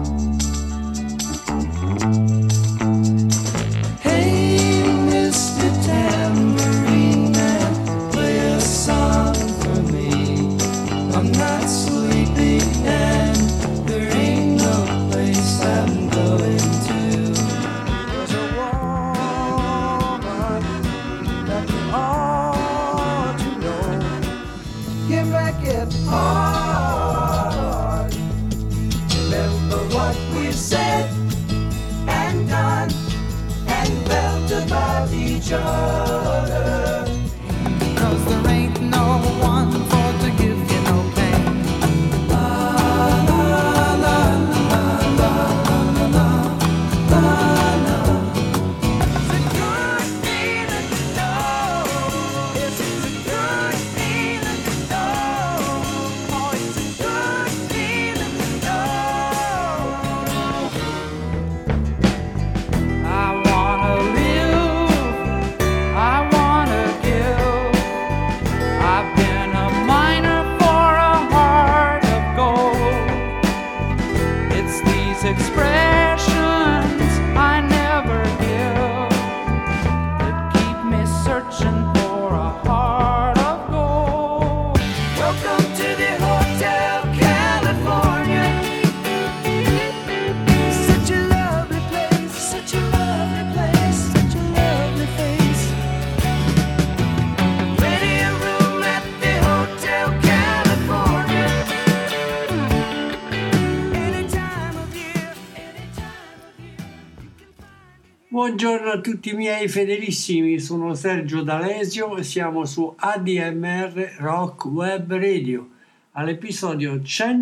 Buongiorno a tutti i miei fedelissimi, sono Sergio D'Alesio e siamo su ADMR Rock Web Radio, all'episodio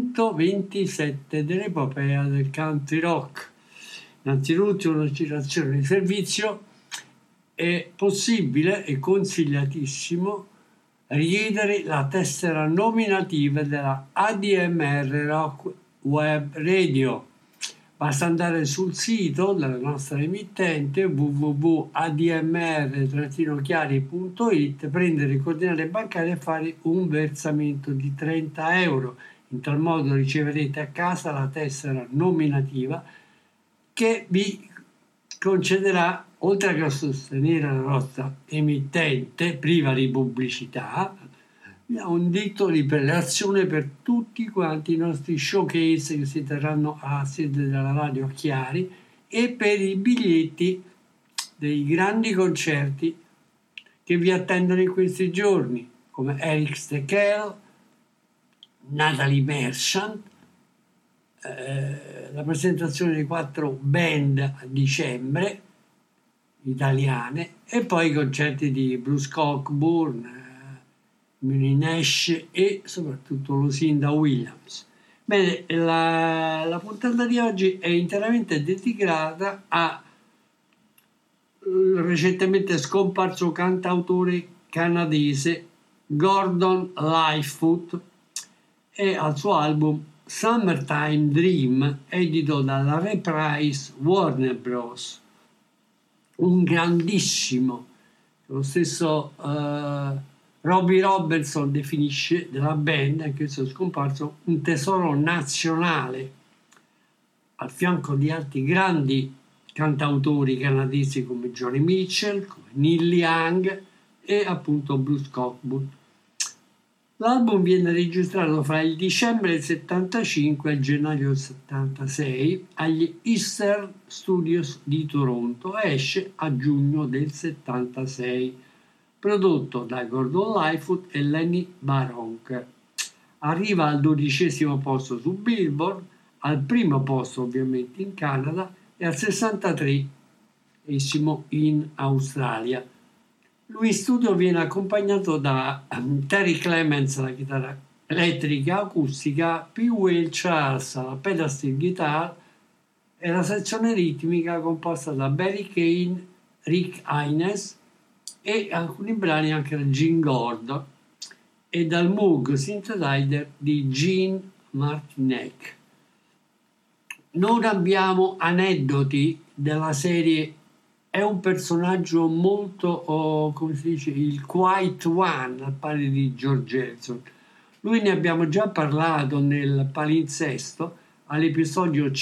127 dell'epopea del country rock. Innanzitutto una citazione di servizio: è possibile e consigliatissimo richiedere la tessera nominativa della ADMR Rock Web Radio. Basta andare sul sito della nostra emittente www.admr-chiari.it, prendere le coordinate bancarie e fare un versamento di 30 euro. In tal modo riceverete a casa la tessera nominativa che vi concederà, oltre che a sostenere la nostra emittente priva di pubblicità, un diritto di prelazione per tutti quanti i nostri showcase che si terranno a sede della Radio Chiari e per i biglietti dei grandi concerti che vi attendono in questi giorni, come Eric Steckel, Natalie Merchant, la presentazione di 4 band a dicembre italiane e poi i concerti di Bruce Cockburn, Muni Nash e soprattutto Lucinda Williams. Bene, la puntata di oggi è interamente dedicata al recentemente scomparso cantautore canadese Gordon Lightfoot e al suo album Summertime Dream, edito dalla Reprise Warner Bros. Un grandissimo, lo stesso Robbie Robertson definisce della band, anche se è scomparso, un tesoro nazionale, al fianco di altri grandi cantautori canadesi come Johnny Mitchell, come Neil Young e appunto Bruce Cockburn. L'album viene registrato fra il dicembre del 75 e il gennaio del 76 agli Eastern Studios di Toronto e esce a giugno del 76. Prodotto da Gordon Lightfoot e Lenny Baronk. Arriva al 12° posto su Billboard, al primo posto ovviamente in Canada e al 63° in Australia. Lui in studio viene accompagnato da Terry Clements alla chitarra elettrica acustica, P. Will Charles alla pedal steel guitar e la sezione ritmica composta da Barry Kane, Rick Haynes e alcuni brani anche da Gene Gordon e dal Moog synthesizer di Gene Martinek. Non abbiamo aneddoti della serie, è un personaggio molto, come si dice, il quiet one, al pari di George Harrison. Lui ne abbiamo già parlato nel palinsesto, all'episodio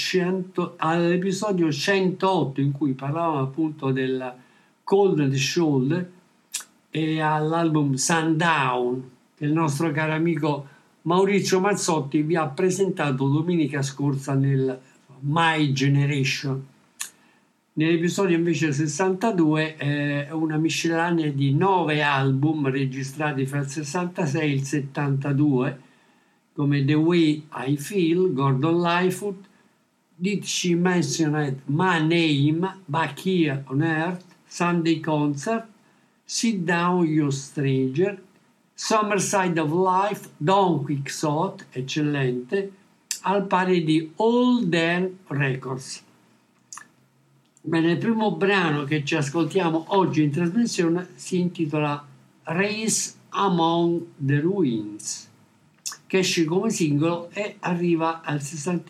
108 in cui parlavamo appunto del Cold and Shoulder e all'album Sundown che il nostro caro amico Maurizio Mazzotti vi ha presentato domenica scorsa nel My Generation. Nell'episodio invece 62 è una miscellanea di 9 album registrati fra il 66 e il 72 come The Way I Feel, Gordon Lightfoot, Did She Mention My Name, Back Here on Earth, Sunday Concert, Sit Down You Stranger, Summer Side of Life, Don Quixote, eccellente, al pari di All Then Records. Bene, il primo brano che ci ascoltiamo oggi in trasmissione si intitola Race Among the Ruins, che esce come singolo e arriva al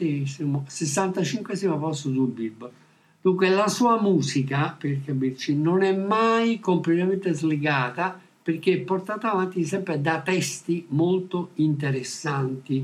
65esimo posto sul Billboard. Dunque la sua musica, per capirci, non è mai completamente slegata perché è portata avanti sempre da testi molto interessanti,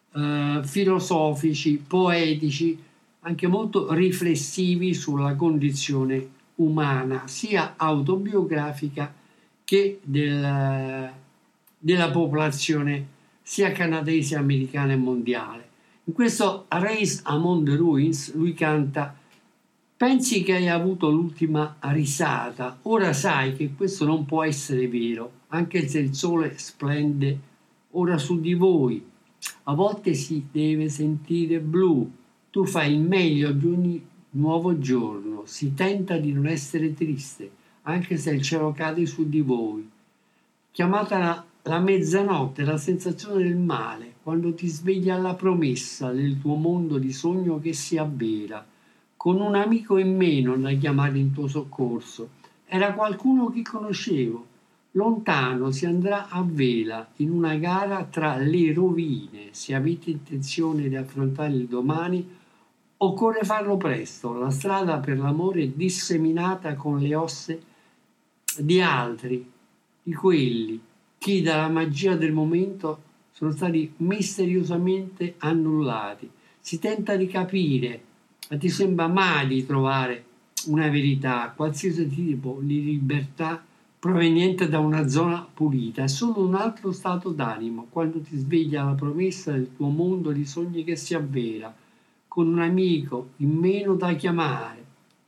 filosofici, poetici, anche molto riflessivi sulla condizione umana, sia autobiografica che della popolazione sia canadese, americana e mondiale. In questo Race Among the Ruins lui canta: pensi che hai avuto l'ultima risata, ora sai che questo non può essere vero, anche se il sole splende ora su di voi. A volte si deve sentire blu, tu fai il meglio di ogni nuovo giorno, si tenta di non essere triste, anche se il cielo cade su di voi. Chiamata la mezzanotte, la sensazione del male, quando ti svegli alla promessa del tuo mondo di sogno che si avvera, con un amico in meno da chiamare in tuo soccorso. Era qualcuno che conoscevo. Lontano si andrà a vela in una gara tra le rovine. Se avete intenzione di affrontare il domani, occorre farlo presto. La strada per l'amore è disseminata con le ossa di altri, di quelli che dalla magia del momento sono stati misteriosamente annullati. Si tenta di capire, ma ti sembra mai di trovare una verità, qualsiasi tipo di libertà proveniente da una zona pulita. È solo un altro stato d'animo, quando ti svegli alla promessa del tuo mondo di sogni che si avvera, con un amico in meno da chiamare.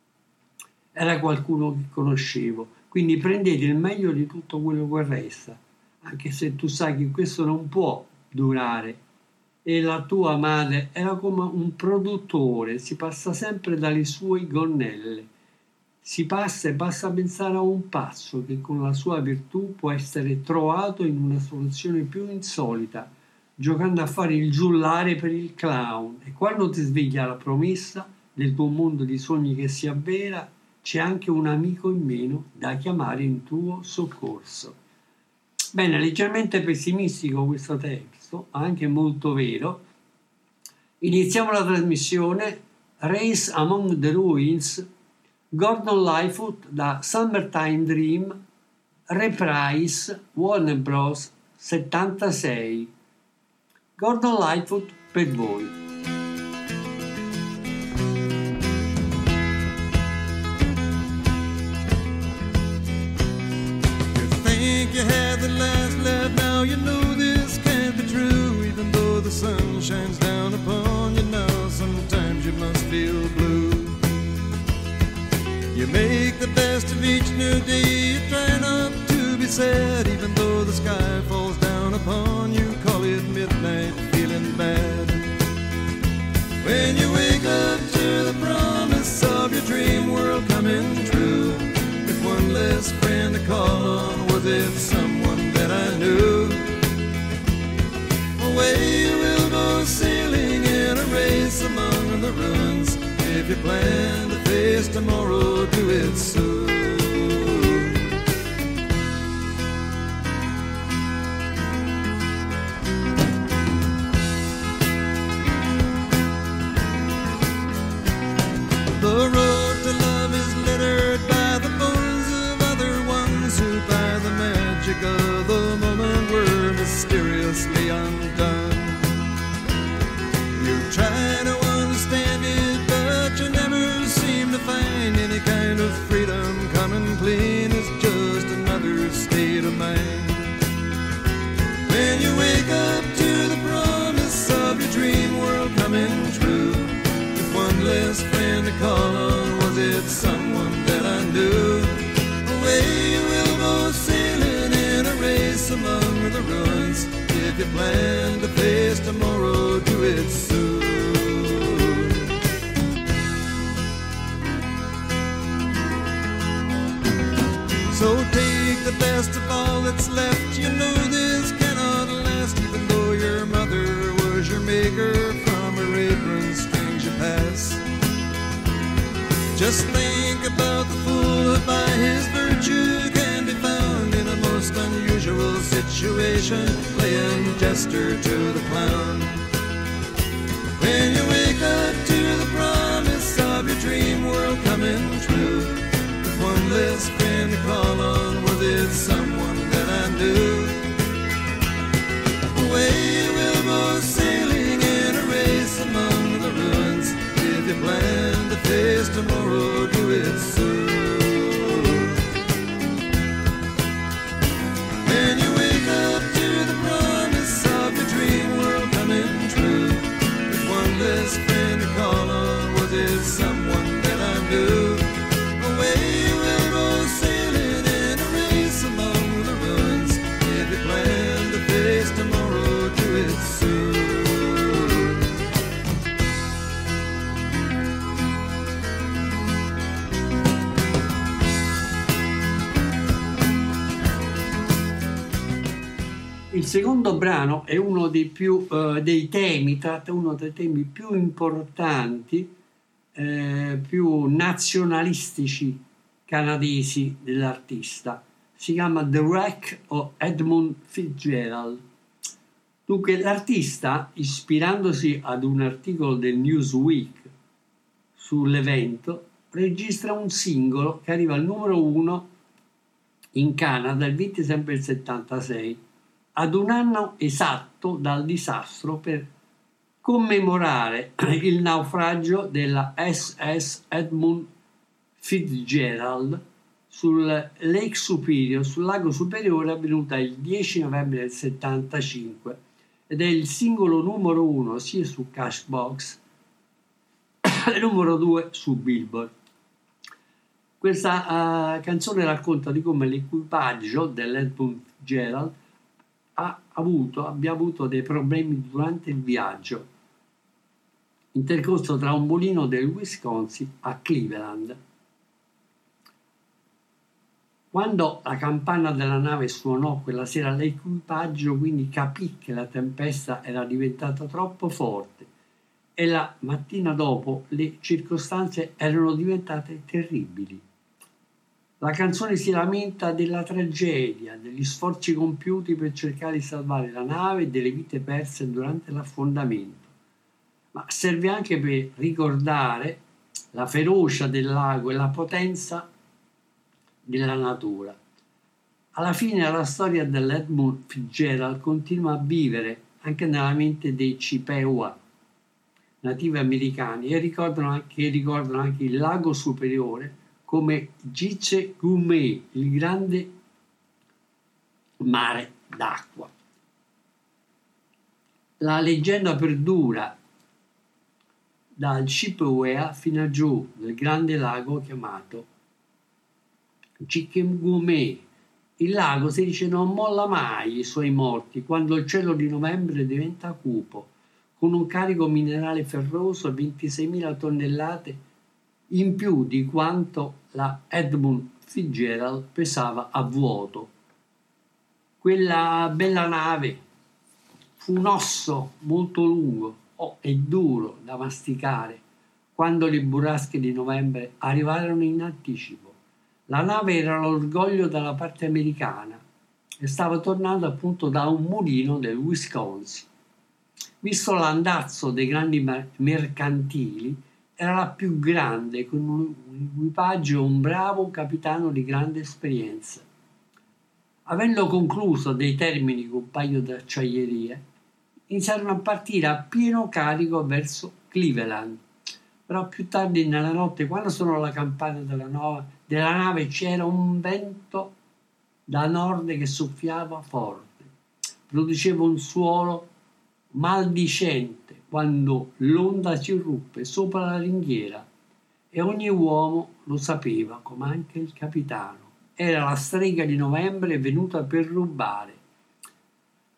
Era qualcuno che conoscevo, quindi prendete il meglio di tutto quello che resta, anche se tu sai che questo non può durare. E la tua madre era come un produttore, si passa sempre dalle sue gonnelle. Si passa e basta pensare a un passo che con la sua virtù può essere trovato in una soluzione più insolita, giocando a fare il giullare per il clown. E quando ti svegli alla promessa del tuo mondo di sogni che si avvera, c'è anche un amico in meno da chiamare in tuo soccorso. Bene, leggermente pessimistico questo testo, anche molto vero. Iniziamo la trasmissione Race Among the Ruins, Gordon Lightfoot da Summertime Dream, Reprise, Warner Bros. 76. Gordon Lightfoot per voi. You had the last laugh, now you know this can't be true. Even though the sun shines down upon you now, sometimes you must feel blue. You make the best of each new day, you try not to be sad. Even though the sky falls down upon you, call it midnight, feeling bad. When you wake up to the promise of your dream world coming true, with one less friend to call on, was it someone that I knew? Away you will go sailing in a race among the ruins. If you plan to face tomorrow, do it soon. The road to love is littered by the bones of other ones who by the magic of the moment were mysteriously undone. You try to you plan to face tomorrow, do it soon. So take the best of all that's left. You know this cannot last, even though your mother was your maker. From her apron strings you pass. Just think about the fool who by his virtue can be found in a most unusual situation, playing jester to the clown. When you wake up to the promise of your dream world coming true, with one less friend to call on, was it someone that I knew? Away we'll go sailing in a race among the ruins. If you plan to face tomorrow, do it soon. When you wake up to the promise of your dream world coming true, with one less friend to call on, was it someone that I knew? Away we'll go sailing in a race among the ruins. If you plan to face tomorrow, do it soon. Il secondo brano è uno dei temi, tratta uno dei temi più importanti, più nazionalistici canadesi dell'artista. Si chiama The Wreck of Edmund Fitzgerald. Dunque l'artista, ispirandosi ad un articolo del Newsweek sull'evento, registra un singolo che arriva al numero 1 in Canada il 20 settembre del 76, ad un anno esatto dal disastro, per commemorare il naufragio della SS Edmund Fitzgerald sul Lake Superior, sul lago Superiore, avvenuta il 10 novembre del 75, ed è il singolo numero 1 sia su Cashbox e numero 2 su Billboard. Questa canzone racconta di come l'equipaggio dell'Edmund Fitzgerald abbia avuto dei problemi durante il viaggio intercorso tra un mulino del Wisconsin a Cleveland. Quando la campana della nave suonò quella sera, l'equipaggio quindi capì che la tempesta era diventata troppo forte e la mattina dopo le circostanze erano diventate terribili. La canzone si lamenta della tragedia, degli sforzi compiuti per cercare di salvare la nave e delle vite perse durante l'affondamento, ma serve anche per ricordare la ferocia del lago e la potenza della natura. Alla fine la storia dell'Edmund Fitzgerald continua a vivere anche nella mente dei Chippewa, nativi americani, e ricordano anche il lago Superiore come Gitche-Gumee, il grande mare d'acqua. La leggenda perdura dal Chippewa fino a giù nel grande lago chiamato Gitche-Gumee. Il lago, si dice, non molla mai i suoi morti quando il cielo di novembre diventa cupo, con un carico minerale ferroso e 26.000 tonnellate in più di quanto la Edmund Fitzgerald pesava a vuoto. Quella bella nave fu un osso molto lungo e duro da masticare quando le burrasche di novembre arrivarono in anticipo. La nave era l'orgoglio della parte americana e stava tornando appunto da un mulino del Wisconsin. Visto l'andazzo dei grandi mercantili, era la più grande, con un equipaggio e un bravo capitano di grande esperienza. Avendo concluso dei termini con un paio di acciaierie, iniziarono a partire a pieno carico verso Cleveland. Però più tardi nella notte, quando suonò la campana della nave, c'era un vento da nord che soffiava forte, produceva un suono maldicente quando l'onda si ruppe sopra la ringhiera, e ogni uomo lo sapeva, come anche il capitano. Era la strega di novembre venuta per rubare.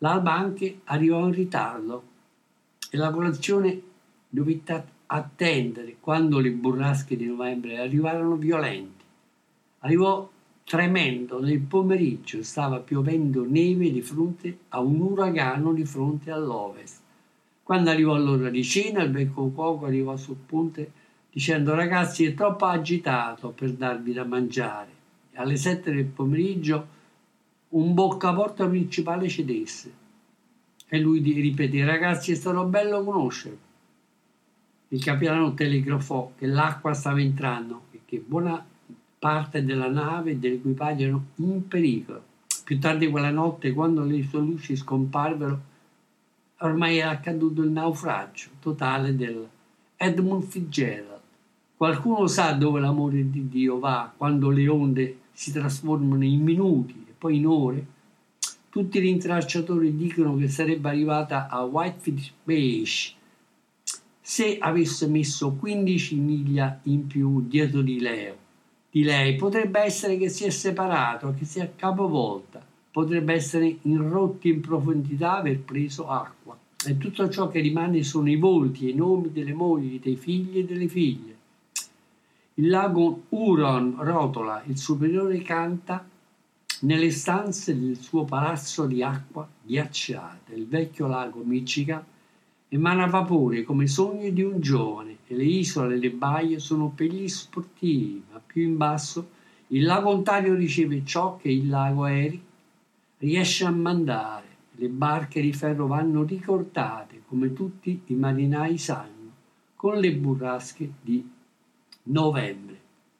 L'alba anche arrivò in ritardo e la colazione dovette attendere quando le burrasche di novembre arrivarono violenti. Arrivò tremendo nel pomeriggio, stava piovendo neve di fronte a un uragano di fronte all'ovest. Quando arrivò l'ora di cena, il vecchio cuoco arrivò sul ponte dicendo: ragazzi, è troppo agitato per darvi da mangiare. E alle 7 del pomeriggio un boccaporta principale cedesse e lui ripeté: ragazzi, è stato bello conoscervi. Il capitano telegrafò che l'acqua stava entrando e che buona parte della nave e dell'equipaggio erano in pericolo. Più tardi quella notte, quando le sue luci scomparvero, ormai era accaduto il naufragio totale del Edmund Fitzgerald. Qualcuno sa dove l'amore di Dio va quando le onde si trasformano in minuti e poi in ore? Tutti gli intralciatori dicono che sarebbe arrivata a Whitefish Beach se avesse messo 15 miglia in più dietro di lei. Potrebbe essere che si è separato, che si è capovolta, potrebbe essere in rotti in profondità, aver preso acqua. E tutto ciò che rimane sono i volti e i nomi delle mogli, dei figli e delle figlie. Il lago Huron rotola, il superiore canta nelle stanze del suo palazzo di acqua ghiacciata. Il vecchio lago Michigan emana vapore come sogno di un giovane e le isole e le baie sono per gli sportivi, ma più in basso il lago Ontario riceve ciò che il lago Erie riesce a mandare. Le barche di ferro vanno ricortate, come tutti i marinai sanno, con le burrasche di novembre.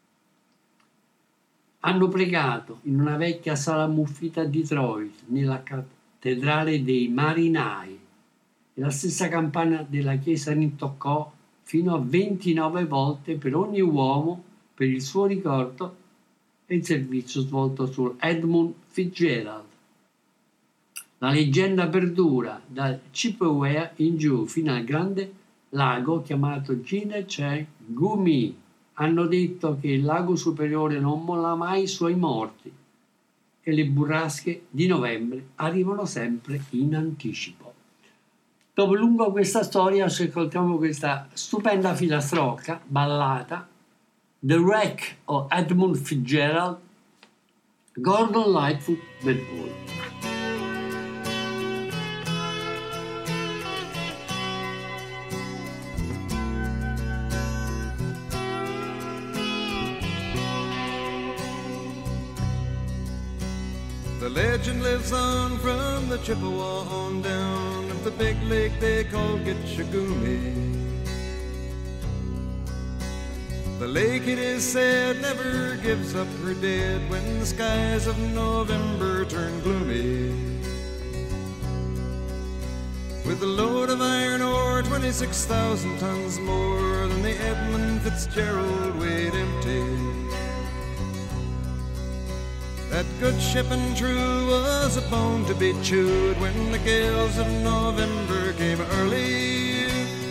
Hanno pregato in una vecchia sala ammuffita a Detroit, nella cattedrale dei marinai, e la stessa campana della chiesa rintoccò fino a 29 volte per ogni uomo per il suo ricordo e il servizio svolto su Edmund Fitzgerald. La leggenda perdura da Chippewa in giù fino al grande lago chiamato Gumi. Hanno detto che il lago superiore non molla mai i suoi morti e le burrasche di novembre arrivano sempre in anticipo. Dopo lungo questa storia ci ascoltiamo questa stupenda filastrocca ballata, The Wreck of Edmund Fitzgerald, Gordon Lightfoot Bedford. The legend lives on from the Chippewa on down of the big lake they call Gitchagumi. The lake, it is said, never gives up her dead when the skies of November turn gloomy. With a load of iron ore, 26,000 tons more than the Edmund Fitzgerald weighed empty. That good ship and true was a bone to be chewed when the gales of November came early.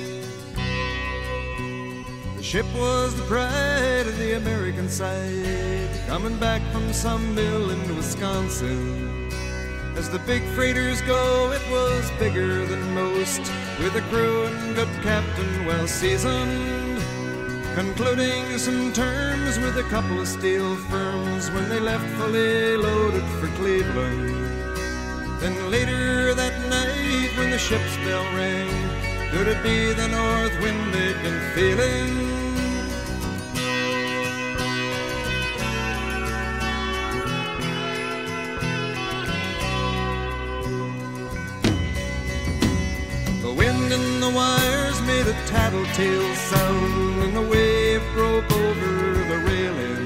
The ship was the pride of the American side, coming back from some mill in Wisconsin. As the big freighters go, it was bigger than most, with a crew and good captain well seasoned, concluding some terms with a couple of steel firms when they left fully loaded for Cleveland. Then later that night when the ship's bell rang, could it be the north wind they'd been feeling? The wind in the wires made a tattletale sound, and the wave broke over the railing.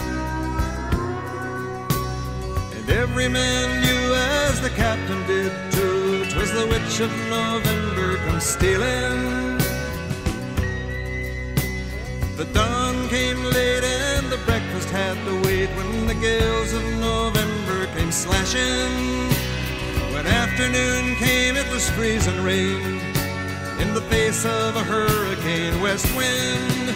And every man knew, as the captain did too, 'twas the witch of November come stealing. The dawn came late and the breakfast had to wait when the gales of November came slashing. When afternoon came, it was freezing rain in the face of a hurricane west wind.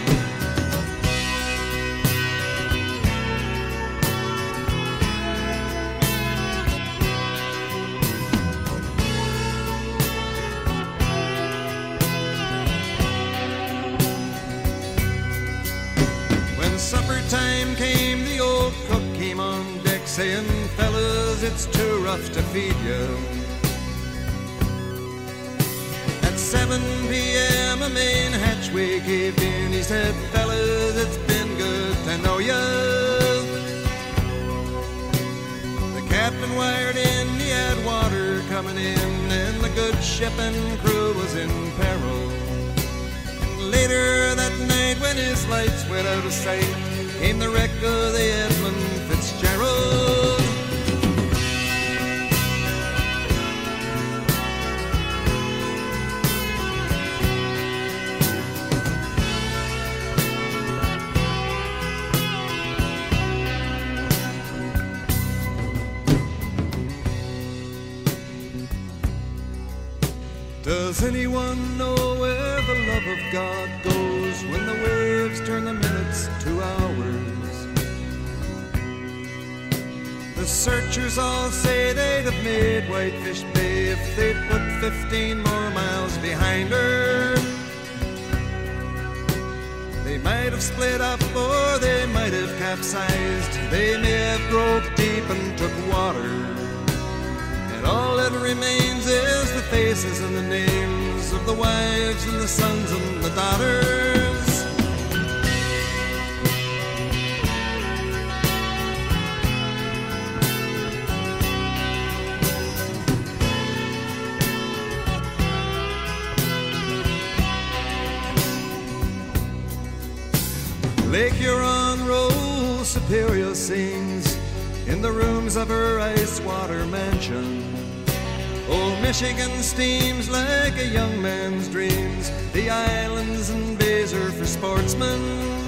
time came, the old cook came on deck saying, fellas, it's too rough to feed you. At 7 p.m. a main hatchway caved in. He said, fellas, it's been good to know you. The captain wired in, he had water coming in, and the good ship and crew was in peril. And later that night, when his lights went out of sight, came the wreck of the Edmund Fitzgerald. Does anyone know where the love of God goes when the waves turn the minutes to hours? The searchers all say they'd have made Whitefish Bay if they'd put 15 more miles behind her. They might have split up or they might have capsized. They may have groped deep and took water. All that remains is the faces and the names of the wives and the sons and the daughters. Lake Huron rolls, Superior sings in the rooms of her ice-water mansion. Old Michigan steams like a young man's dreams. The islands and bays are for sportsmen.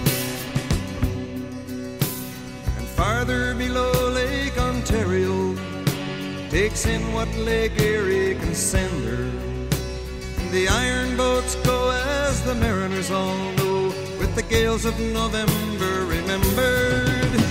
And farther below, Lake Ontario takes in what Lake Erie can send her. And the iron boats go, as the mariners all know, with the gales of November remembered.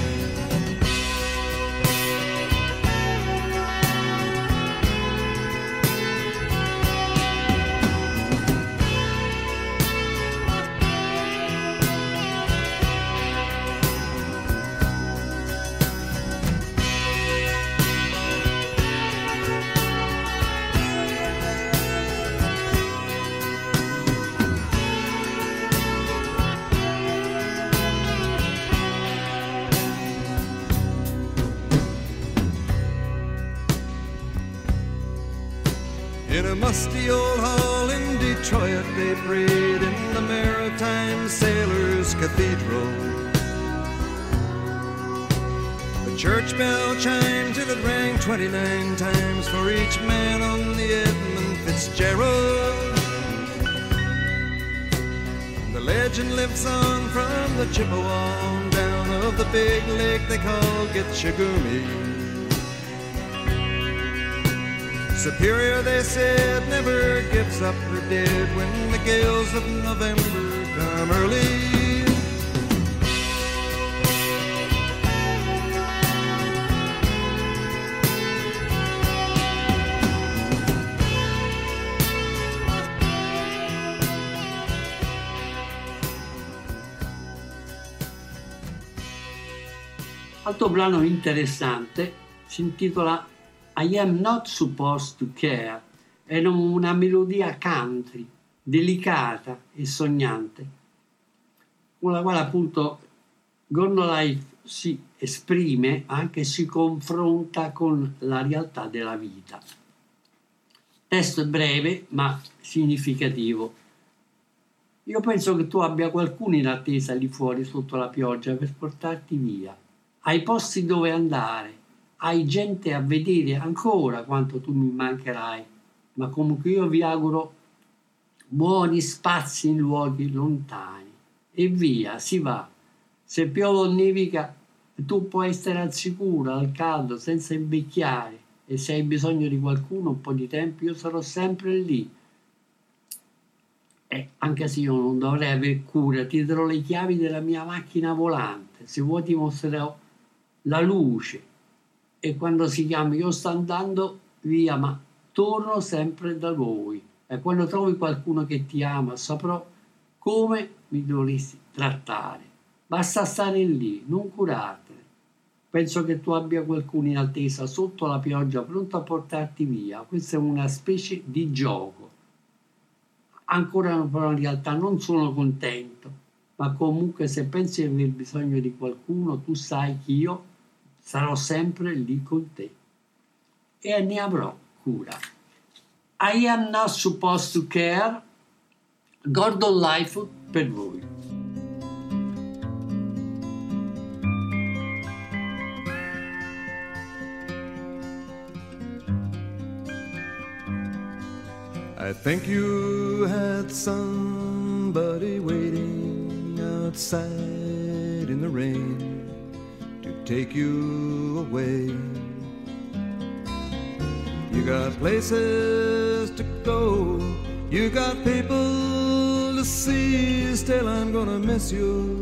In a musty old hall in Detroit, they prayed in the Maritime Sailors' Cathedral. The church bell chimed till it rang 29 times for each man on the Edmund Fitzgerald. The legend lives on from the Chippewa on down of the big lake they call Gitchagumi. Superior, they said, never gives up her dead when the gales of November come early. Altro brano interessante si intitola I Am Not Supposed to Care. È una melodia country, delicata e sognante, con la quale appunto Gordon Life si esprime, anche si confronta con la realtà della vita. Testo breve ma significativo. Io penso che tu abbia qualcuno in attesa lì fuori sotto la pioggia per portarti via. Hai posti dove andare, hai gente a vedere ancora quanto tu mi mancherai, ma comunque io vi auguro buoni spazi in luoghi lontani. E via, si va. Se piove o nevica, tu puoi stare al sicuro, al caldo, senza invecchiare, e se hai bisogno di qualcuno un po' di tempo, io sarò sempre lì. E anche se io non dovrei aver cura, ti darò le chiavi della mia macchina volante. Se vuoi ti mostrerò la luce. E quando si chiama io sto andando via, ma torno sempre da voi. E quando trovi qualcuno che ti ama, saprò come mi dovresti trattare. Basta stare lì, non curartene. Penso che tu abbia qualcuno in attesa sotto la pioggia pronto a portarti via. Questa è una specie di gioco. Ancora però in realtà non sono contento, ma comunque se pensi di aver bisogno di qualcuno, tu sai che io sarò sempre lì con te e ne avrò cura. I am not supposed to care. Gordon Lightfoot per voi. I think you had somebody waiting outside in the rain to take you away. You got places to go, you got people to see, still I'm gonna miss you.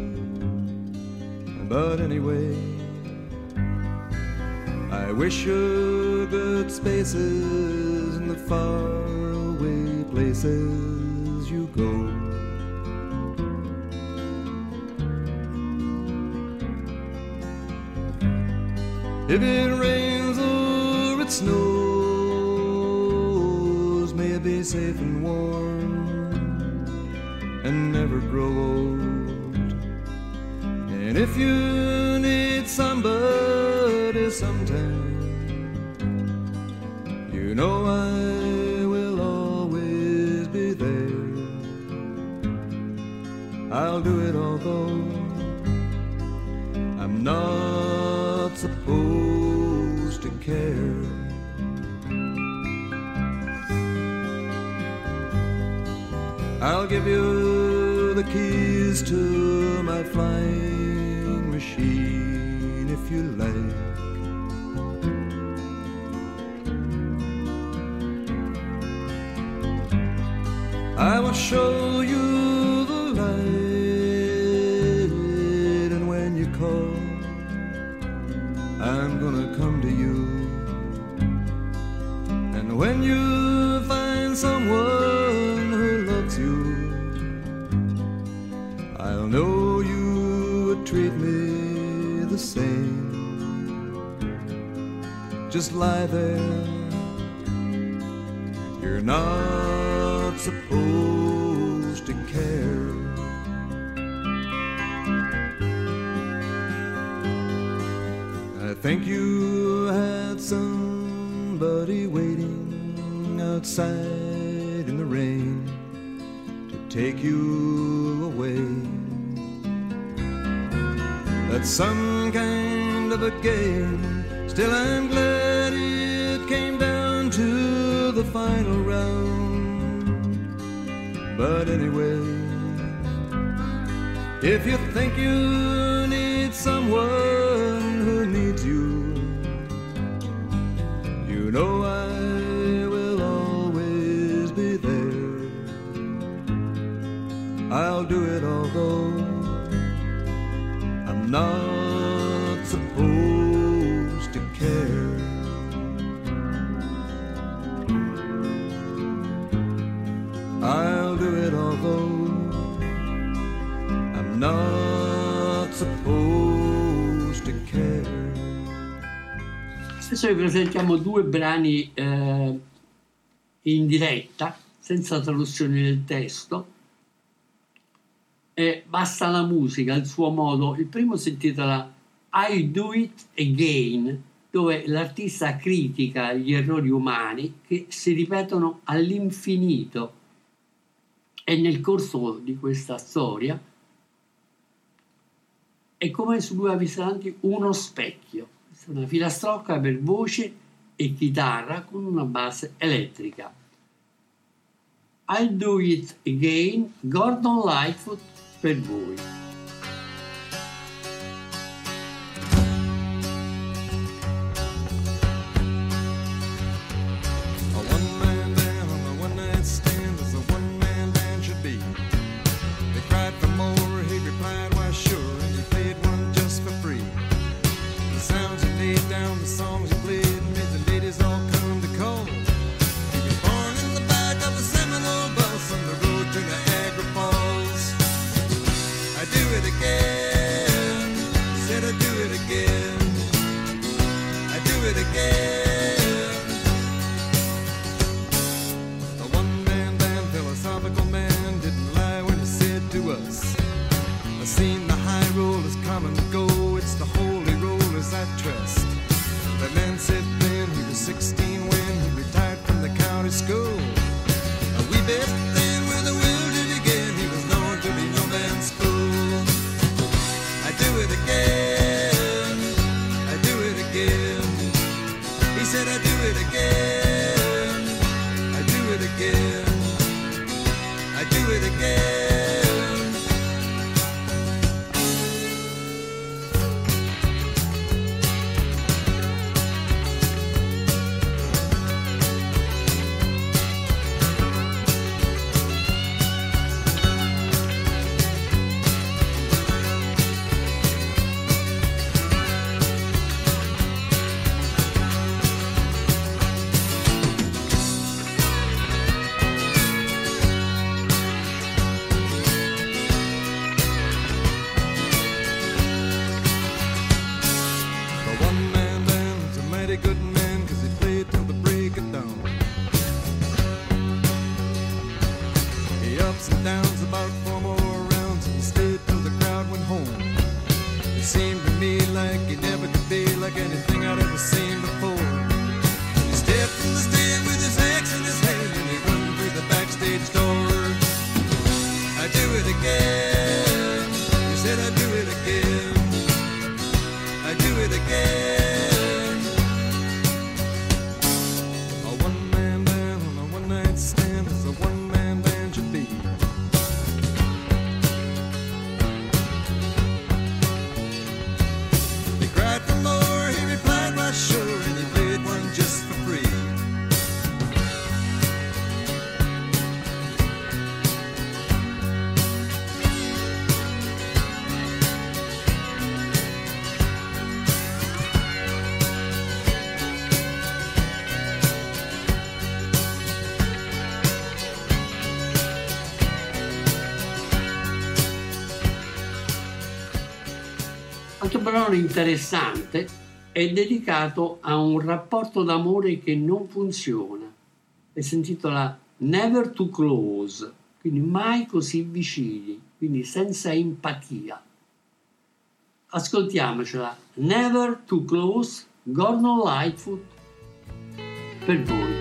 But anyway, I wish you good spaces in the faraway places you go. If it rains or it snows, may it be safe and warm and never grow old. And if you need somebody sometime, you know I will always be there. I'll do it although I'm not supposed to care. I'll give you the keys to my flying machine if you like. I will show you the light, and when you call, I'm gonna come to you. And when you find someone who loves you, I'll know you would treat me the same. Just lie there, you're not supposed to care. I think you had somebody waiting outside in the rain to take you away. That's some kind of a game. Still I'm glad it came down to the final round. But anyway, if you think you need someone who needs you, you know I will always be there. I'll do it although I'm not supposed to care. I'll do it although I'm not supposed to care. Adesso vi presentiamo due brani in diretta, senza traduzione del testo. E basta la musica, il suo modo. Il primo si intitola I Do It Again, dove l'artista critica gli errori umani che si ripetono all'infinito. E nel corso di questa storia è come su due avisanti uno specchio. Questa è una filastrocca per voce e chitarra con una base elettrica. I'll Do It Again, Gordon Lightfoot per voi. I do us. I've seen the high rollers come and go. It's the holy rollers I trust. The man said then he was 16 when he retired from the county school. We bet then with a will to begin. He was known to be no man's fool. I do it again. I do it again. He said I do it again. I do it again. I do it again. Questo brano interessante è dedicato a un rapporto d'amore che non funziona e si intitola Never Too Close, quindi mai così vicini, quindi senza empatia. Ascoltiamocela, Never Too Close, Gordon Lightfoot, per voi.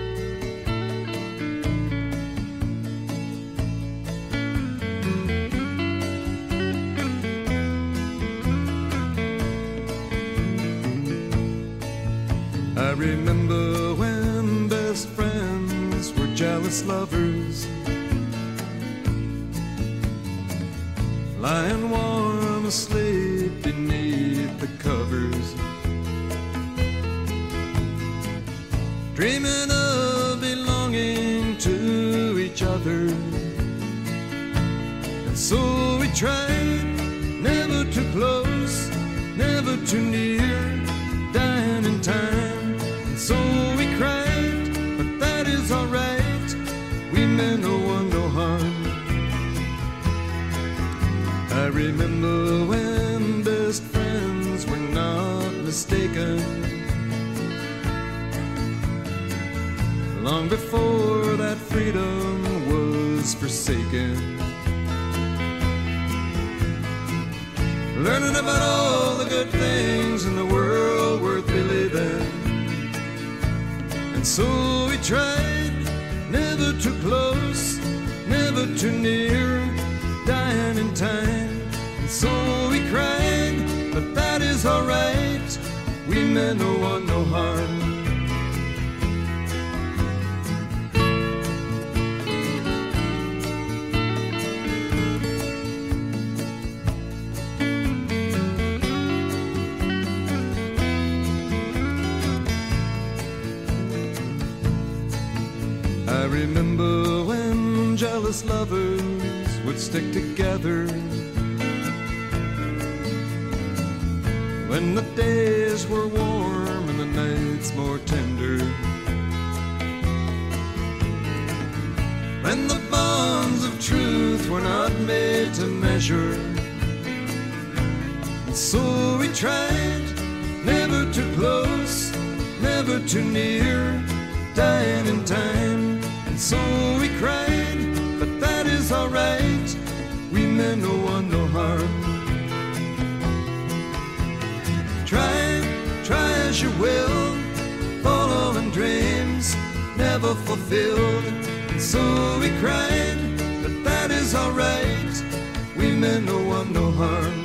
I remember when best friends were jealous lovers, lying warm asleep beneath the covers, dreaming of belonging to each other. And so we tried, never too close, never too near, dying in time. So we cried, but that is alright. We meant no one no harm. I remember when best friends were not mistaken, long before that freedom was forsaken. Learning about all the good things in the world worth believing. So we tried, never too close, never too near, dying in time. And so we cried, but that is alright. We meant no one no harm. I remember when jealous lovers would stick together, when the days were warm and the nights more tender, when the bonds of truth were not made to measure. And so we tried, never too close, never too near, dying in time. And so we cried, but that is alright. We meant no will, following dreams never fulfilled. And so we cried, but that is alright, we meant no one no harm.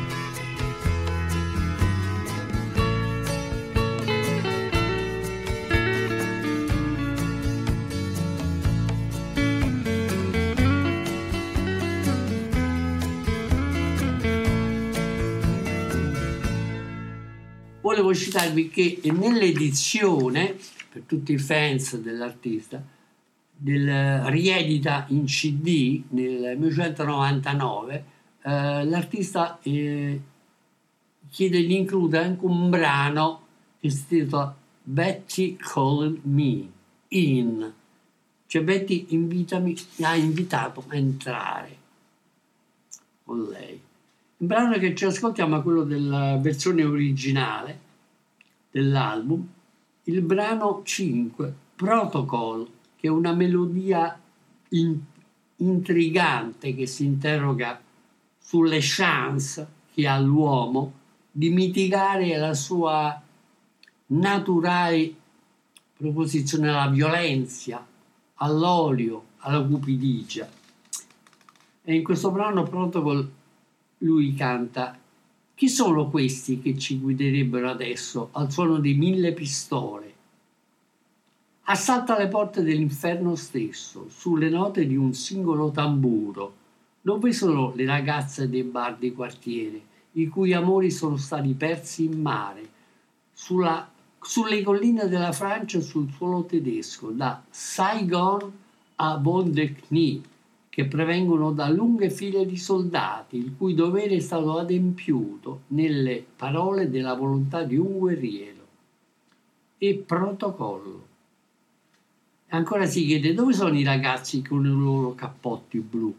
Volevo citarvi che nell'edizione, per tutti i fans dell'artista, del riedita in CD nel 1999, l'artista chiede di includere anche un brano che si intitola Betty Called Me In, cioè Betty mi ha invitato a entrare con lei. Il brano che ci ascoltiamo è quello della versione originale dell'album, il brano 5, Protocol, che è una melodia intrigante che si interroga sulle chance che ha l'uomo di mitigare la sua naturale proposizione alla violenza, all'odio, alla cupidigia. E in questo brano Protocol lui canta: chi sono questi che ci guiderebbero adesso al suono di 1000 pistole? Assalta le porte dell'inferno stesso, sulle note di un singolo tamburo. Dove sono le ragazze dei bar di quartiere, i cui amori sono stati persi in mare, sulle colline della Francia e sul suolo tedesco, da Saigon a Bond-de-Knie, che provengono da lunghe file di soldati, il cui dovere è stato adempiuto nelle parole della volontà di un guerriero. E Protocollo. Ancora si chiede: dove sono i ragazzi con i loro cappotti blu,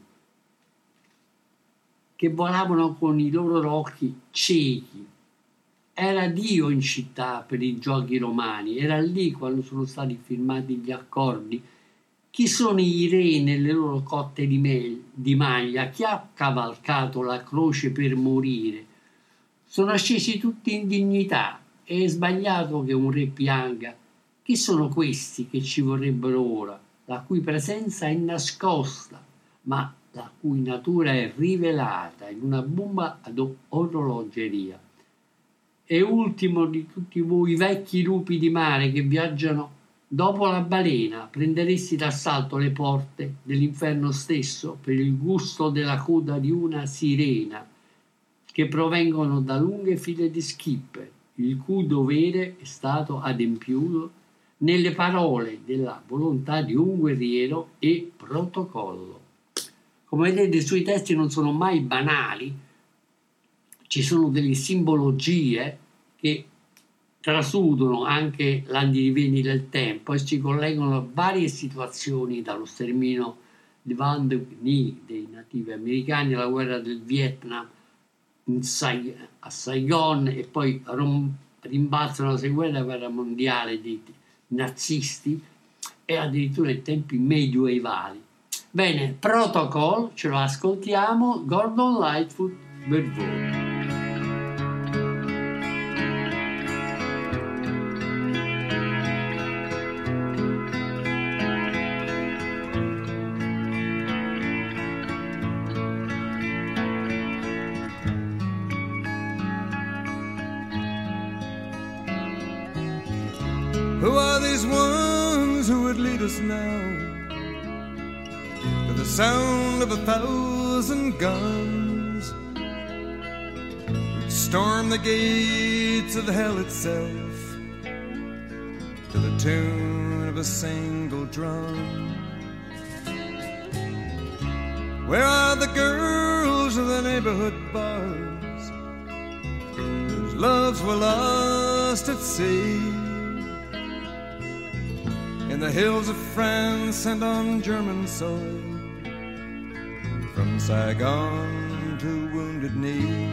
che volavano con i loro occhi ciechi? Era Dio in città per i giochi romani, era lì quando sono stati firmati gli accordi. Chi sono i re nelle loro cotte di maglia? Chi ha cavalcato la croce per morire? Sono scesi tutti in dignità. È sbagliato che un re pianga. Chi sono questi che ci vorrebbero ora, la cui presenza è nascosta, ma la cui natura è rivelata in una bomba ad orologeria? E ultimo di tutti voi vecchi lupi di mare che viaggiano dopo la balena, prenderesti d'assalto le porte dell'inferno stesso per il gusto della coda di una sirena, che provengono da lunghe file di skipper, il cui dovere è stato adempiuto nelle parole della volontà di un guerriero e Protocollo. Come vedete, i suoi testi non sono mai banali, ci sono delle simbologie che trasudano anche l'andirivieni del tempo e si collegano a varie situazioni, dallo sterminio di Bond-de-Knie dei nativi americani alla guerra del Vietnam a Saigon, e poi rimbalzano la seconda guerra mondiale dei nazisti e addirittura in tempi medioevali. Bene, Protocol, ce lo ascoltiamo, Gordon Lightfoot per voi. Who are these ones who would lead us now to the sound of 1,000 guns, who'd storm the gates of hell itself to the tune of a single drum? Where are the girls of the neighborhood bars whose loves were lost at sea, in the hills of France and on German soil, from Saigon to Wounded Knee,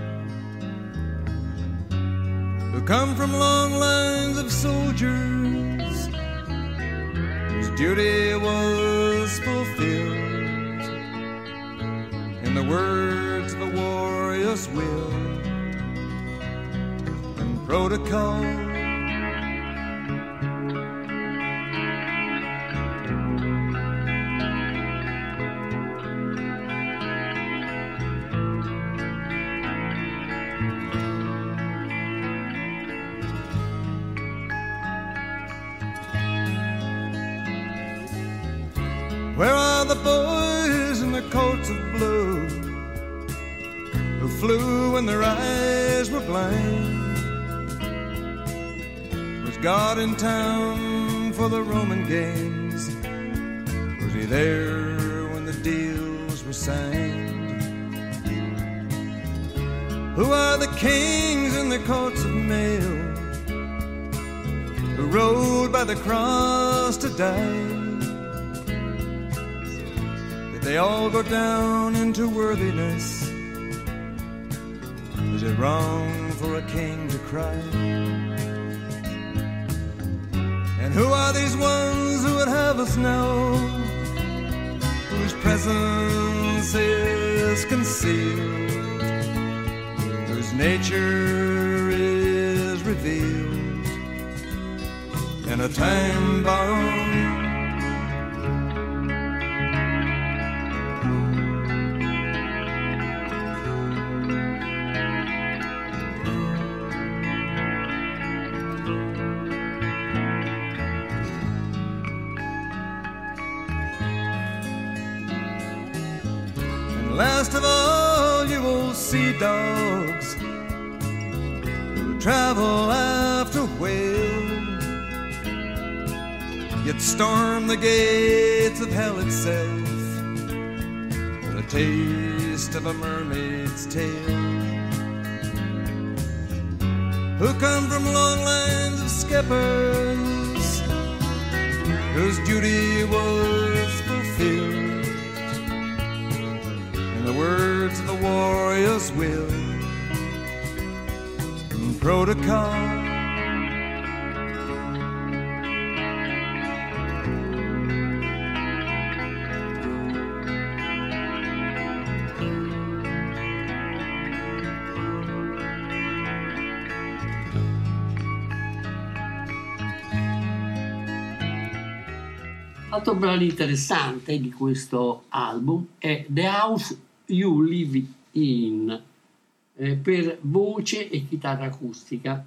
who come from long lines of soldiers whose duty was fulfilled in the words of a warrior's will and protocol Where are the boys in their coats of blue who flew when their eyes were blind? Was God in town for the Roman games? Was he there when the deals were signed? Who are the kings in their coats of mail who rode by the cross to die? Did they all go down into worthiness? Is it wrong for a king to cry? And who are these ones who would have us know, whose presence is concealed, whose nature is revealed in a time bomb? Last of all, you old sea dogs who travel after whale, yet storm the gates of hell itself for a taste of a mermaid's tale. Who come from long lines of skippers whose duty was fulfilled in the words of the warrior's will and protocol. Altro brano interessante di questo album è The House You Live In, per voce e chitarra acustica.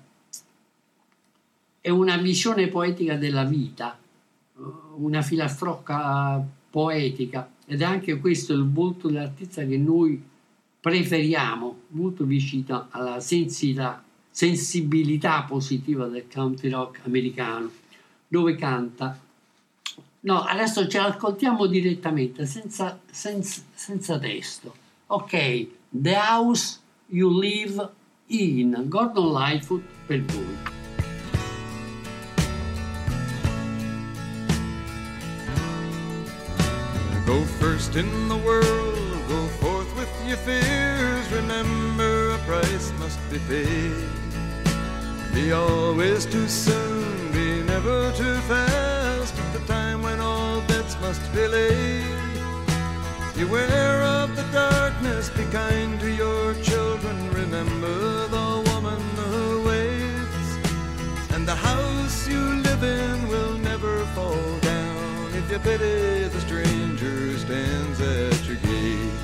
È una visione poetica della vita, una filastrocca poetica, ed è anche questo il volto dell'artista che noi preferiamo, molto vicino alla sensibilità positiva del country rock americano, dove canta. No, adesso ce l'ascoltiamo direttamente, senza testo. Ok, The House You Live In, Gordon Lightfoot per voi. Go first in the world, go forth with your fears. Remember, a price must be paid. Be always too soon, be never too fast. At the time when all bets must be laid. Beware of the darkness, be kind to your children. Remember the woman who waits, and the house you live in will never fall down if you pity the stranger who stands at your gate.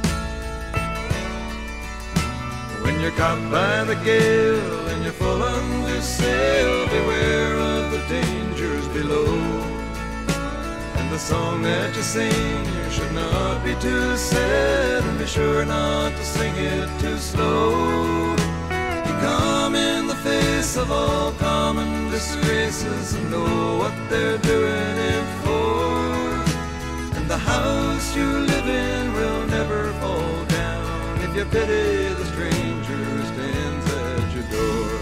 When you're caught by the gale and you're full under sail, beware of the dangers below. And the song that you sing, you should not be too sad, and be sure not to sing it too slow. You come in the face of all common disgraces and know what they're doing it for. And the house you live in will never fall down if you pity the stranger who stands at your door.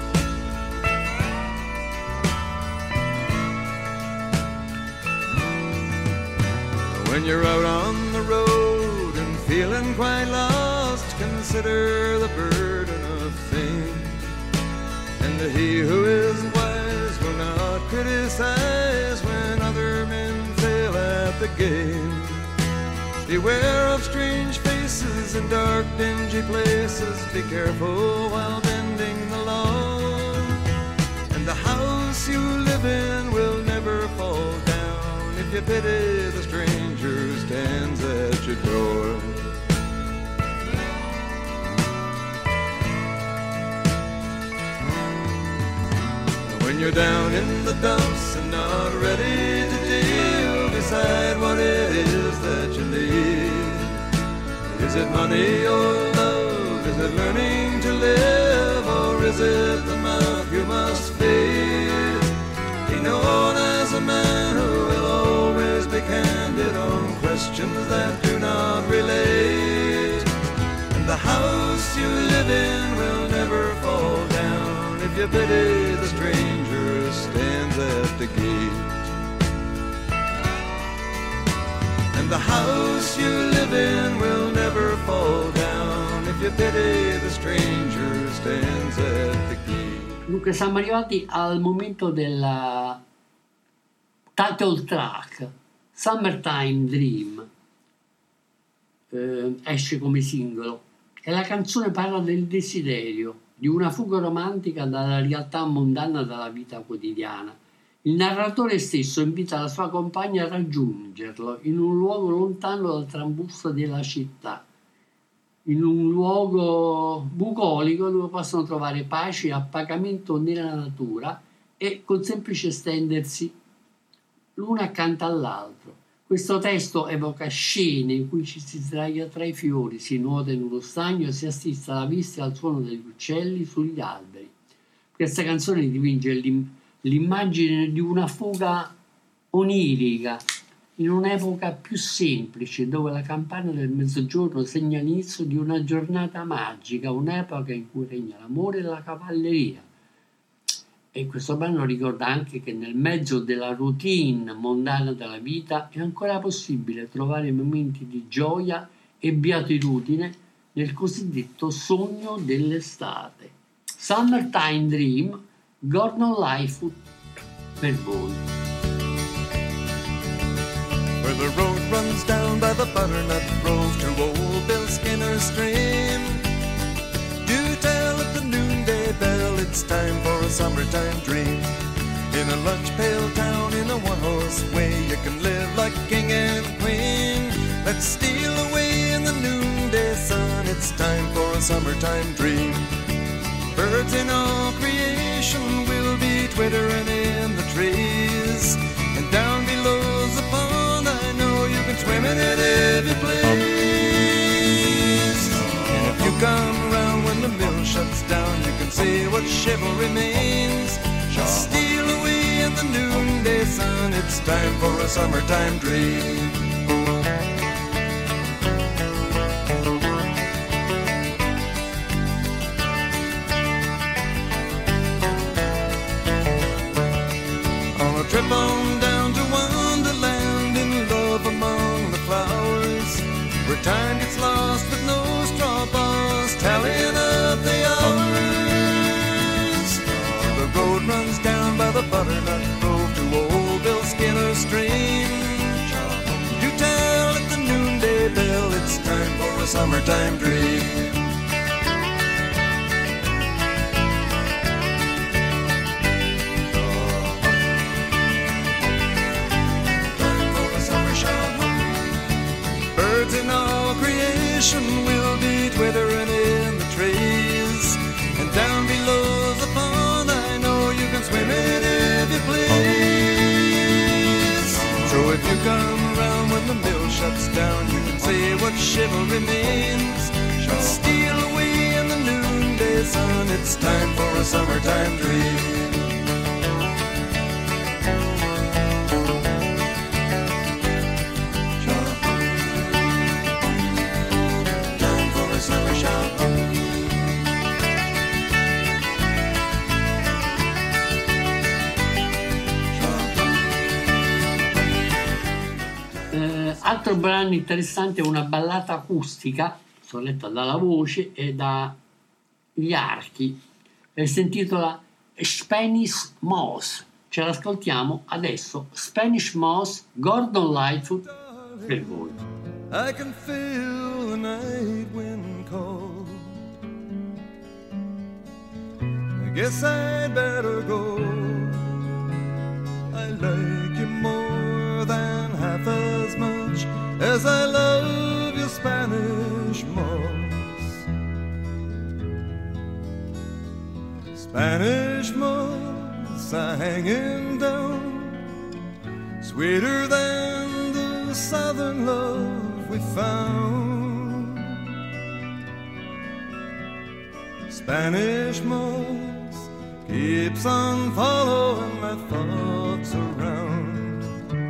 When you're out on the road and feeling quite lost, consider the burden of fame. And he who is wise will not criticize when other men fail at the game. Beware of strange faces in dark, dingy places. Be careful while bending the law. And the house you live in will never fall down if you pity the stranger who stands at your door. When you're down in the dumps and not ready to deal, decide what it Is it money or love? Is it learning to live? Or is it the mouth you must feed? Be known as a man who will always be candid on questions that do not relate. And the house you live in will never fall down if you pity the stranger who stands at the gate. And the house you live in will never fall down if you pity the stranger who stands at the gate. Dunque siamo arrivati al momento della title track, Summertime Dream, esce come singolo e la canzone parla del desiderio, di una fuga romantica dalla realtà mondana della vita quotidiana. Il narratore stesso invita la sua compagna a raggiungerlo in un luogo lontano dal trambusto della città, in un luogo bucolico dove possono trovare pace e appagamento nella natura e col semplice stendersi l'una accanto all'altro. Questo testo evoca scene in cui ci si sdraia tra i fiori, si nuota in uno stagno e si assiste alla vista e al suono degli uccelli sugli alberi. Questa canzone dipinge l'immagine di una fuga onirica in un'epoca più semplice, dove la campana del mezzogiorno segna l'inizio di una giornata magica, un'epoca in cui regna l'amore e la cavalleria. E questo brano ricorda anche che nel mezzo della routine mondana della vita è ancora possibile trovare momenti di gioia e beatitudine nel cosiddetto sogno dell'estate. Summertime Dream, Gordon Lightfoot per voi. Where the road runs down by the butternut grove to old Bill Skinner's stream, do tell at the noonday bell it's time for a summertime dream. In a lunch pail town in a one-horse way, you can live like king and queen. Let's steal away in the noonday sun, it's time for a summertime dream. Birds in all creation will be twittering in the trees, and down below's the pond, I know you can swim in it if you please. And if you come around when the mill shuts down, you can see what chivalry means. Steal away in the noonday sun, it's time for a summertime dream. Trip on down to Wonderland in love among the flowers, where time gets lost with no straw bars tallying up the hours. The road runs down by the butternut grove to old Bill Skinner's stream. You tell at the noonday bell it's time for a summertime dream. Birds in all creation will be twittering in the trees, and down below the pond I know you can swim in if you please. So if you come around when the mill shuts down, you can see what chivalry means. Steal away in the noonday sun, it's time for a summertime dream. Altro brano interessante è una ballata acustica, soletta dalla voce e dagli archi, e si intitola Spanish Moss. Ce l'ascoltiamo adesso. Spanish Moss, Gordon Lightfoot per voi. I can feel the night wind cold. I guess I'd better go. I like you more than half as much as I love your Spanish moss. Spanish moss hanging down, sweeter than the southern love we found. Spanish moss keeps on following my thoughts around.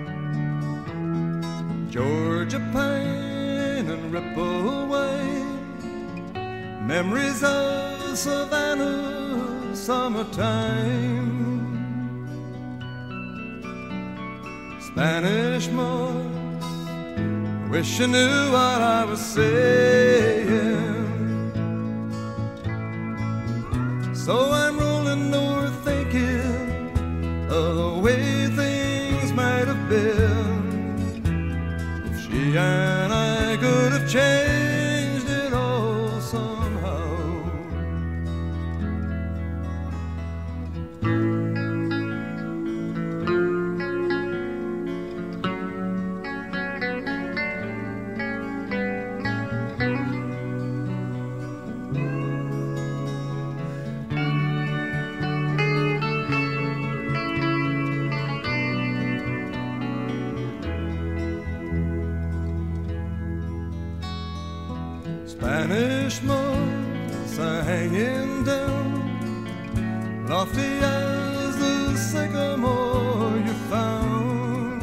Georgia pine and ripple wave, memories of Savannah summertime. Spanish moss, wish you knew what I was saying. So I'm rolling north thinking of the way things might have been if she and I could have changed it all somehow. Spanish moss are hanging down, lofty as the sycamore you found.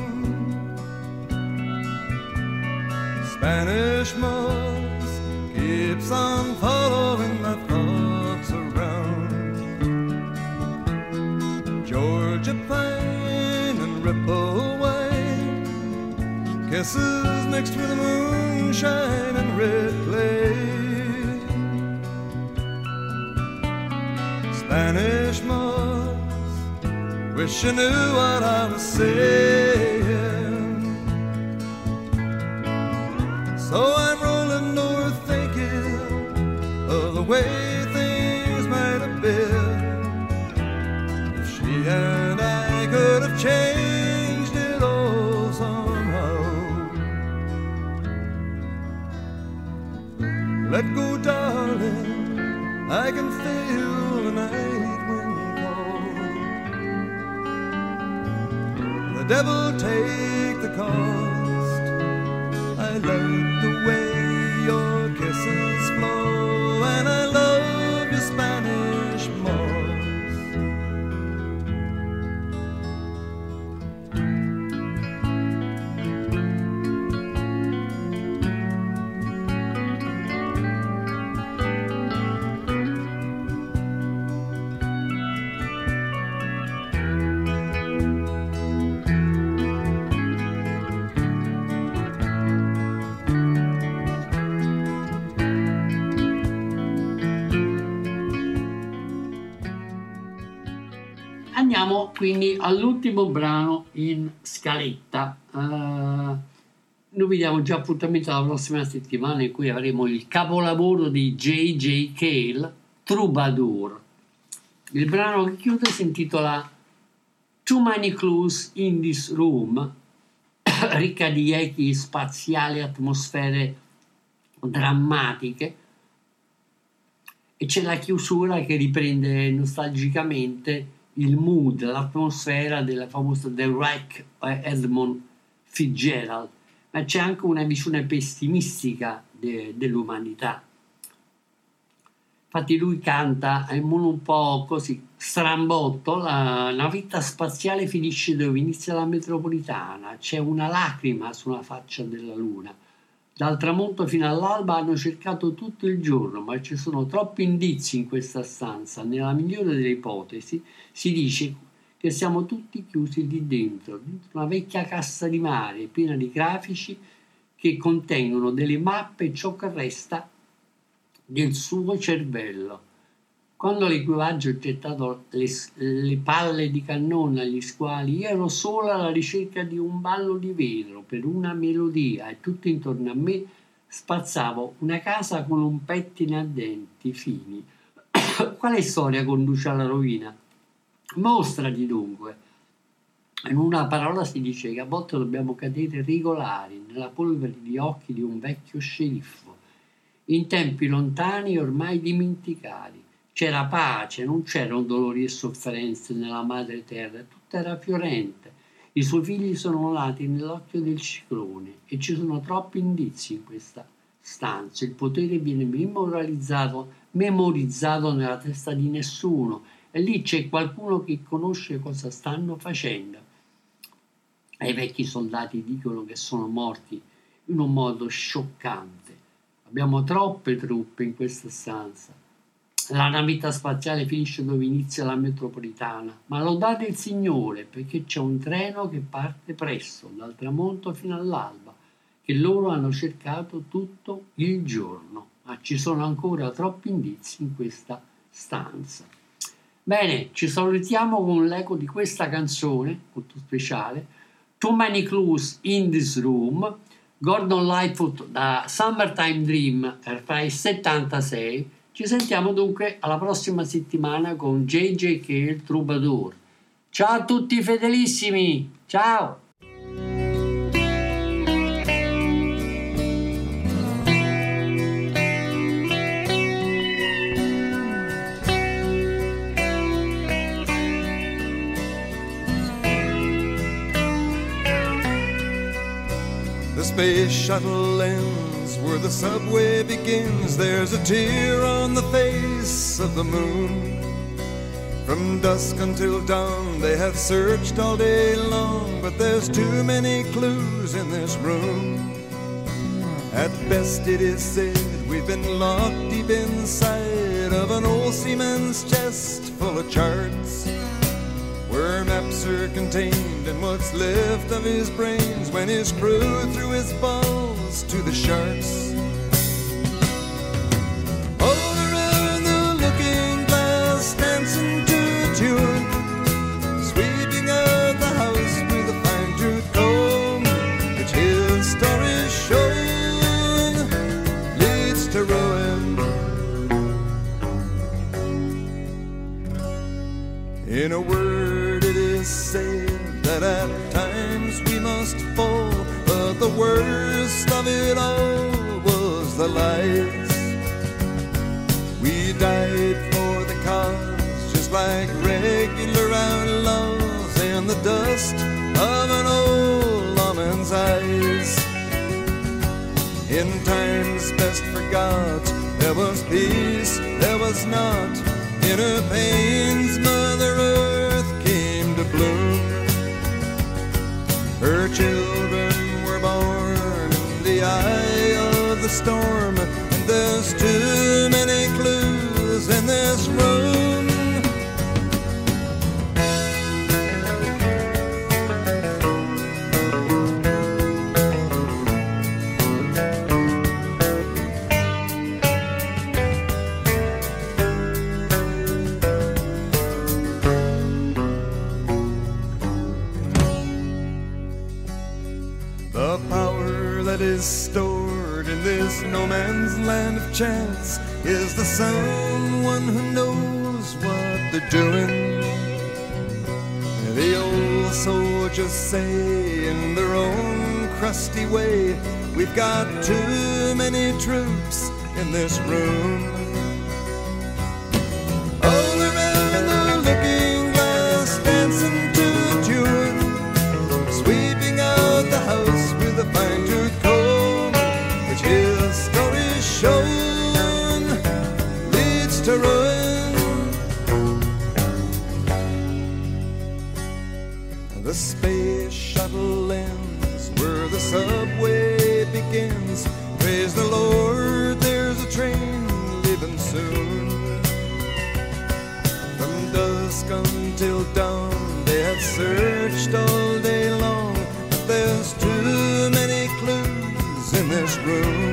Spanish moss keeps on following my thoughts around. Georgia pine and ripple wave, kisses mixed with moonshine and red clay. Spanish moss, wish you knew what I was saying. So I'm rolling north thinking of the way things might have been if she and I could have changed it all somehow. Let go, darling, I can feel the night wind call. The devil take the cost. I like the way your kisses flow, and I love your Spanish moss. Andiamo quindi all'ultimo brano in scaletta. Noi vi diamo già appuntamento la prossima settimana in cui avremo il capolavoro di J.J. Cale, Troubadour. Il brano che chiude si intitola Too Many Clues in This Room, ricca di echi spaziali, atmosfere drammatiche, e c'è la chiusura che riprende nostalgicamente il mood, l'atmosfera della famosa The Wreck Edmund Fitzgerald, ma c'è anche una visione pessimistica dell'umanità. Infatti lui canta in modo un po' così strambotto: la vita spaziale finisce dove inizia la metropolitana, c'è una lacrima sulla faccia della luna. Dal tramonto fino all'alba hanno cercato tutto il giorno, ma ci sono troppi indizi in questa stanza. Nella migliore delle ipotesi si dice che siamo tutti chiusi lì dentro una vecchia cassa di mare piena di grafici che contengono delle mappe e ciò che resta del suo cervello. Quando l'equipaggio ha gettato le palle di cannone agli squali, io ero solo alla ricerca di un ballo di vetro per una melodia e tutto intorno a me spazzavo una casa con un pettine a denti fini. Quale storia conduce alla rovina? Mostrati dunque. In una parola si dice che a volte dobbiamo cadere regolari nella polvere di occhi di un vecchio sceriffo, in tempi lontani e ormai dimenticati. C'era pace, non c'erano dolori e sofferenze nella madre terra, tutto era fiorente. I suoi figli sono nati nell'occhio del ciclone e ci sono troppi indizi in questa stanze. Il potere viene memorizzato nella testa di nessuno, e lì c'è qualcuno che conosce cosa stanno facendo. E i vecchi soldati dicono che sono morti in un modo scioccante. Abbiamo troppe truppe in questa stanza. La navetta spaziale finisce dove inizia la metropolitana, ma lodate il Signore, perché c'è un treno che parte presto, dal tramonto fino all'alba, che loro hanno cercato tutto il giorno. Ma ci sono ancora troppi indizi in questa stanza. Bene, ci salutiamo con l'eco di questa canzone molto speciale, Too Many Clues in This Room, Gordon Lightfoot da Summertime Dream fra il 76. Ci sentiamo dunque alla prossima settimana con JJK il Troubadour. Ciao a tutti fedelissimi, ciao! The space shuttle ends where the subway begins. There's a tear on the face of the moon. From dusk until dawn they have searched all day long, but there's too many clues in this room. At best it is said we've been locked deep inside of an old seaman's chest full of charts, where maps are contained and what's left of his brains when his crew threw his balls to the sharks. All around the looking glass, dancing to a tune, sweeping out the house with a fine-tooth comb, which his story's shown leads to ruin. In a word, said that at times we must fall, but the worst of it all was the lies. We died for the cause, just like regular outlaws, in the dust of an old lawman's eyes. In times best forgot, there was peace, there was not. In her pains, Mother Earth came to bloom. Her children were born in the eye of the storm, and there's too many clues in this room. Stored in this no man's land of chance is the someone who knows what they're doing. The old soldiers say in their own crusty way, we've got too many troops in this room. All around the looking glass, dancing to a tune, sweeping out the house with a fine-tooth comb, which his story shown leads to ruin. The space shuttle ends where the subway begins. Praise the Lord, there's a train leaving soon. From dusk until dawn they have searched all day long, but there's too many clues in this room.